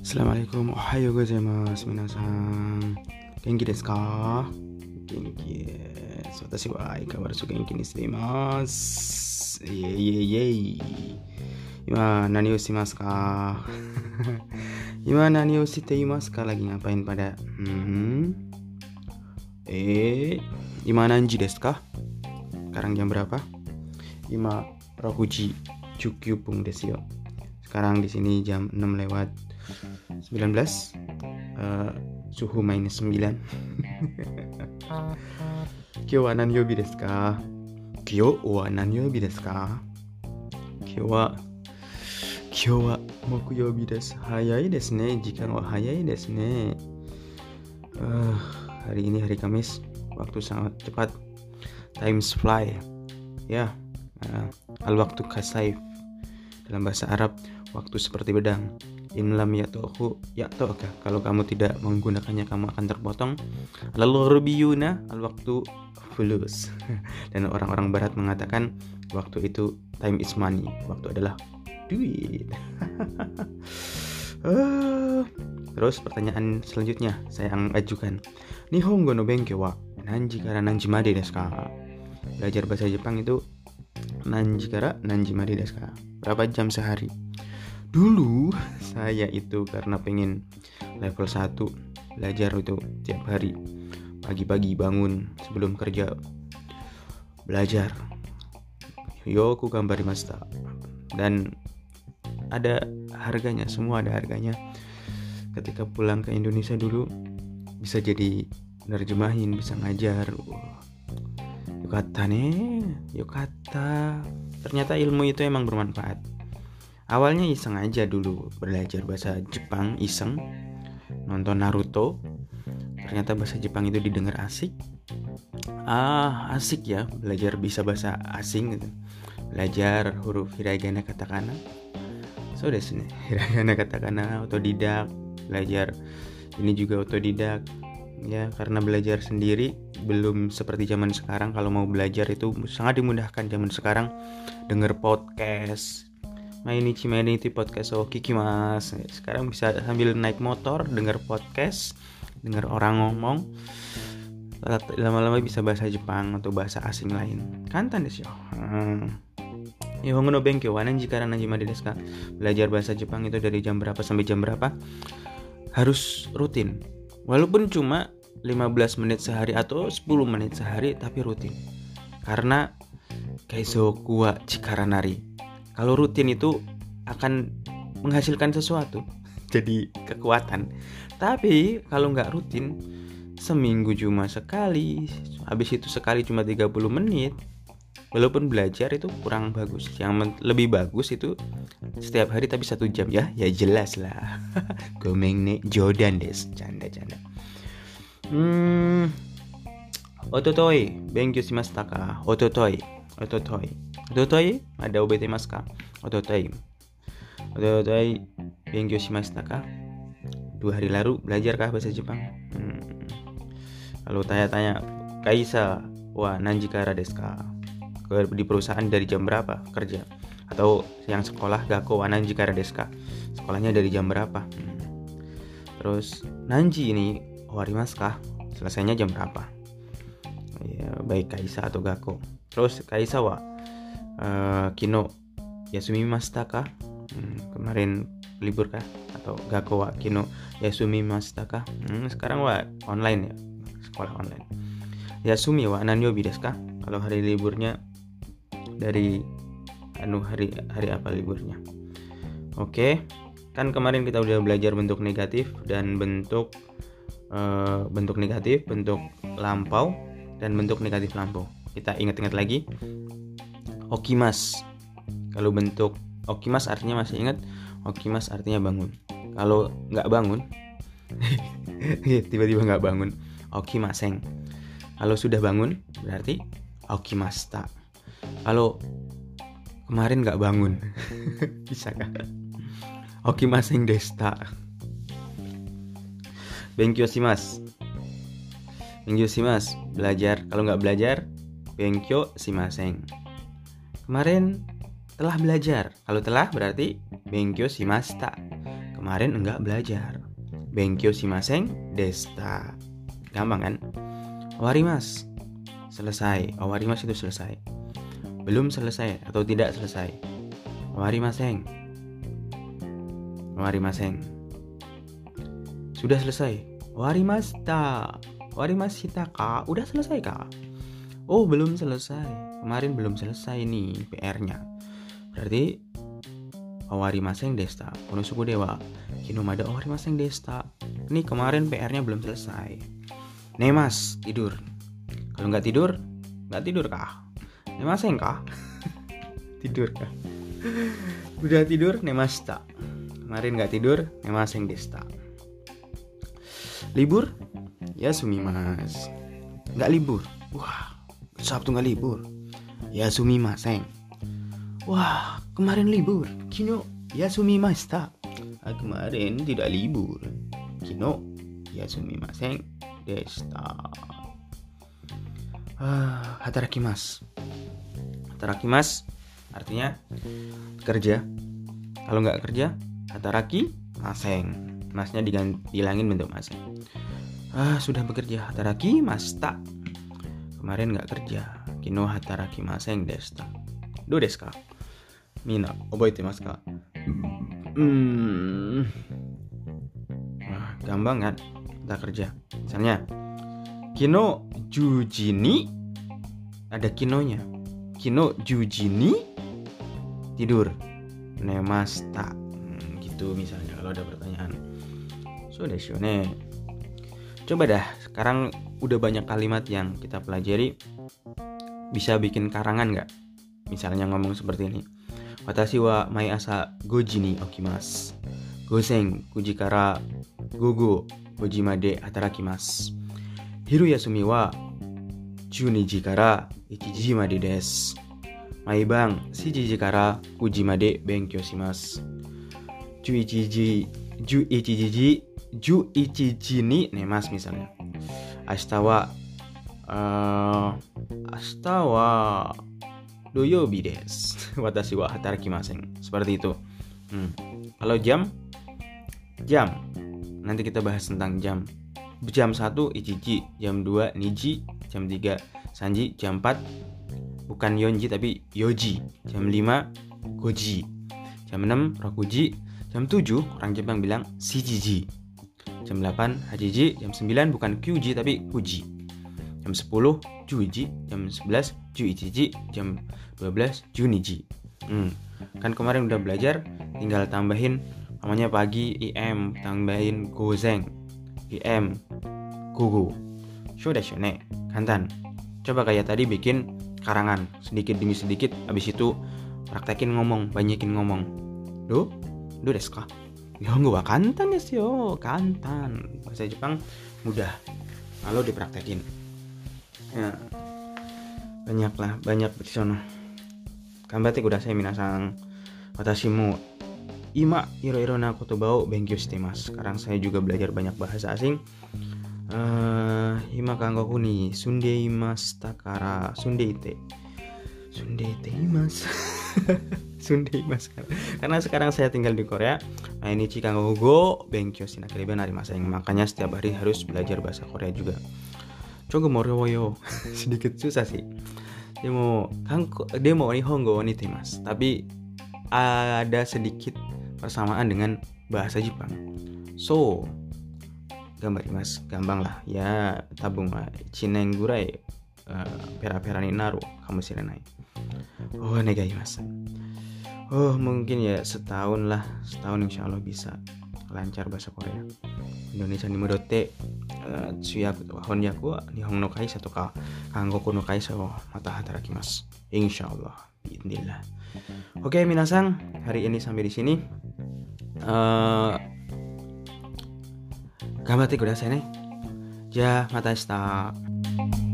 Assalamualaikum, ohayo gozaimasu, minasan. Genki desu ka? Genki desu. Watashi wa aikawaratsu genki ni shite imasu. Iei. Ima nani o shimasu ka? Ima nani o shite imasu ka? Lagi ngapain pada? Ima nanji desu ka? Sekarang jam berapa? Ima rokuji jukyupung desu yo. Sekarang di sini jam 6 lewat 19, suhu minus 9. Kyou wa nani yobi desu ka? Kyou wa nani yobi desu ka? Kyou wa mokuyobi desu. Hayai desu ne. Jikan wa hayai desu ne. Hari ini hari Kamis. Waktu sangat cepat. Times fly. Ya. Al-waktu kasaif. Dalam bahasa Arab, waktu seperti pedang. In lam ya'toka. Kalau kamu tidak menggunakannya, kamu akan terpotong. Al-gharbiyuna al-waktu fulus. Dan orang-orang barat mengatakan waktu itu time is money. Waktu adalah duit. Terus pertanyaan selanjutnya saya ajukan. Nihongo no benkyou wa nanji kara nanji made desu ka? Belajar bahasa Jepang itu nanji kara nanji made desu ka? Berapa jam sehari? Dulu saya itu karena pengen level 1 belajar itu tiap hari. Pagi-pagi bangun sebelum kerja belajar. Yoku gambarimashita. Dan ada harganya, semua ada harganya. Ketika pulang ke Indonesia dulu bisa jadi nerjemahin, bisa ngajar. Yokata ne, yokata. Ternyata ilmu itu emang bermanfaat. Awalnya iseng aja dulu belajar bahasa Jepang, iseng nonton Naruto. Ternyata bahasa Jepang itu didengar asik. Asik ya belajar bisa bahasa asing gitu. Belajar huruf hiragana katakana. So desu ne. Hiragana katakana otodidak, belajar ini juga otodidak. Ya, karena belajar sendiri belum seperti zaman sekarang. Kalau mau belajar itu sangat dimudahkan zaman sekarang. Denger podcast. Mainichi podcast kikimasu. Sekarang bisa sambil naik motor denger podcast, denger orang ngomong. Lama-lama bisa bahasa Jepang atau bahasa asing lain. Kantan desu yo. Nihongo no benkyou wa nanji kara nanji made desu ka? Belajar bahasa Jepang itu dari jam berapa sampai jam berapa? Harus rutin. Walaupun cuma 15 menit sehari atau 10 menit sehari, tapi rutin. Karena keisoku wa chikara nari. Kalau rutin itu akan menghasilkan sesuatu, jadi kekuatan. Tapi kalau nggak rutin, seminggu cuma sekali, habis itu sekali cuma 30 menit. Walaupun belajar itu kurang bagus. Yang lebih bagus itu setiap hari tapi 1 jam ya. Ya jelas lah. Gomeng ne Jordan des. Canda. Ototoi benkyou shimashita ka? Ototoi ada obetemasu ka? Ototoi benkyou shimashita ka? 2 hari lalu belajarkah bahasa Jepang? Kalau tanya-tanya kaisa wa nanji kara desu ka? Di perusahaan dari jam berapa kerja? Atau yang sekolah gakko wa nanji kara desu ka? Sekolahnya dari jam berapa? Terus nanji ini owarimasu ka? Selesainya jam berapa? Ya, baik kaisa atau gakko. Terus kaisa wa kino yasumimashita ka? Kemarin libur kah? Atau gakko wa kino yasumimashita ka? Sekarang wa online ya, sekolah online. Yasumi wa nanyobi desu ka? Kalau hari liburnya dari hari apa liburnya? Oke. Kan kemarin kita udah belajar bentuk negatif dan bentuk negatif, bentuk lampau dan bentuk negatif lampau. Kita ingat-ingat lagi. Okimas. Kalau bentuk okimas artinya masih ingat? Okimas artinya bangun. Kalau nggak bangun, tiba-tiba nggak bangun, okimaseng. Kalau sudah bangun, berarti okimashita. Kalau kemarin nggak bangun, bisa kan? Okimaseng deshita. Benkyou shimasu. Belajar. Kalau nggak belajar, benkyou shimaseng. Kemarin telah belajar. Kalau telah berarti benkyou shimashita. kemarin enggak belajar. Benkyou shimasen deshita. Gampang kan? Owarimasu, selesai. Owarimasu itu selesai. Belum selesai atau tidak selesai. Owarimasen. Owarimasen. Sudah selesai. Owarimashita. Owarimashita ka? Udah selesai kah? Oh, belum selesai. Kemarin belum selesai nih PR-nya. Berarti owarimasen deshita. Konosuku dewa kinomada owarimasen deshita. Ini kemarin PR-nya belum selesai. Nemas, tidur. Kalau nggak tidur kah? Nemasen kah? Tidur kah? Udah tidur, nemashita. Kemarin nggak tidur, nemasen deshita. Libur? Ya sumimasu. Nggak libur. Wah, Sabtu nggak libur. Ya sumimasen. Wah, kemarin libur. Kino ya sumimashita. Kemarin tidak libur. Kino ya sumimasen deshita. Hatarakimasu. Hatarakimasu artinya kerja. Kalau nggak kerja, hatarakimasen. Masnya dihilangin bentuk masnya. Sudah bekerja. Hatarakimashita. Kemarin nggak kerja. Kino hatarakimasen deshita. Do desu ka? Mina, oboitemasu ka? Gampang kan? Kita kerja. Misalnya, kino juji ni, ada kinonya. Kino juji ni tidur. Nemashita. Gitu misalnya kalau ada pertanyaan. So desu ne. Coba dah, sekarang udah banyak kalimat yang kita pelajari. Bisa bikin karangan nggak? Misalnya ngomong seperti ini. Watashi wa mai asa 5 ji ni okimasu. Gosen 9 ji kara gogo 5 ji made hatarakimasu. Hiru yasumi wa 12 ji kara 1 ji made desu. Maibang 7 ji kara 9 ji made benkyou shimasu. 11 ji ni nemasu misalnya. Ashita wa doyobi desu. Watashi wa hatarakimasen. Seperti itu. Kalau jam nanti kita bahas tentang jam. Jam 1 ichiji, jam 2 niji, jam 3 sanji, jam 4 bukan yonji tapi yoji, jam 5 goji, jam 6 rokuji, jam 7 orang Jepang bilang shijiji, jam 8 hajiji, jam 9 bukan kyuji tapi kuji, jam 10 juiji, jam 11 juichiji, jam 12 juniji. Kan kemarin udah belajar, tinggal tambahin namanya pagi IM, tambahin gozen IM, gogo. Show desu ne, kantan. Coba kayak tadi bikin karangan sedikit demi sedikit, habis itu praktekin ngomong, banyakin ngomong. Do desu ka? Nihongo wa kantan desu yo, kantan. Bahasa Jepang mudah kalau dipraktekin. Ya, banyak di sono. Kanbatte kudasai minasan. Watashi mo ima iro-iro na kotoba o benkyou shitemasu. Sekarang saya juga belajar banyak bahasa asing. Ima kangoku ni sundeimasu kara sundeite imasu. Sundeimasu karena sekarang saya tinggal di Korea. Mainichi kangoku go benkyou shinakerebana narimasen. Makanya setiap hari harus belajar bahasa Korea juga. Coba moroyo. Sedikit susah sih. Demo Nihongo wa nitemasu. Tapi ada sedikit persamaan dengan bahasa Jepang. So, gambarimasu. Gampang lah. Ya, tabung wa 1 nen gurai pera-pera ni naru kamushirenai. Negaimasu. Mungkin ya setahun insya Allah bisa lancar bahasa Korea. Indonesia ni mudotte tsuyaku to honyaku wa nihon no kaisa to ka kangoku no kaisa wo mata hatarakimasu. Insyaallah. Bismillah. Oke, minasan, hari ini sampai di sini. Gambatte kudasai ne. Ja, mata shita.